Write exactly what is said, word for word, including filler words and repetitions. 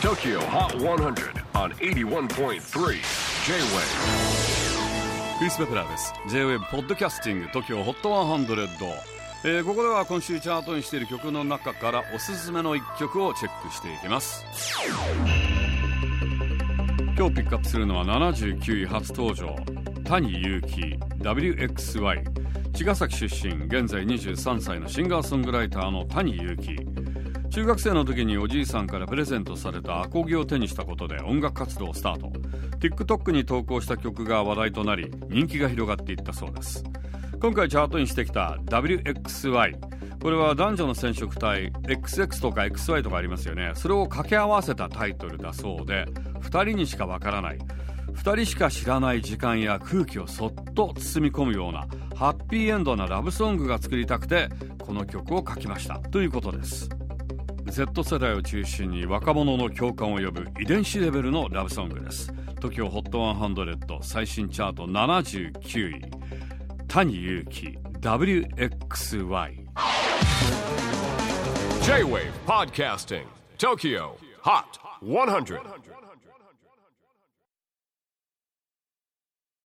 Tokyo Hot one hundred on エイティワンポイントスリー J-Wave。 クリス・ベプラーです。 J-Wave ポッドキャスティング トキオ ホットハンドレッド、えー、ここでは今週チャートにしている曲の中からおすすめのいっきょくをチェックしていきます。今日ピックアップするのはななじゅうきゅうい初登場、谷祐希 ダブリューエックスワイ。 茅ヶ崎出身、現在にじゅうさんさいのシンガーソングライターの谷祐希。中学生の時におじいさんからプレゼントされたアコギを手にしたことで音楽活動をスタート。 TikTok に投稿した曲が話題となり人気が広がっていったそうです。今回チャートにしてきた ダブリューエックスワイ、 これは男女の染色体 エックスエックス とか エックスワイ とかありますよね。それを掛け合わせたタイトルだそうで、ふたりにしかわからない、ふたりしか知らない時間や空気をそっと包み込むようなハッピーエンドなラブソングが作りたくてこの曲を書きましたということです。 Z 世代を中心に若者の共感を呼ぶ遺伝子レベルのラブソングです。 トキオ ホットハンドレッド最新チャートななじゅうきゅうい、谷祐希 ダブリューエックスワイ。 J-Wave Podcasting Tokyo Hot one hundred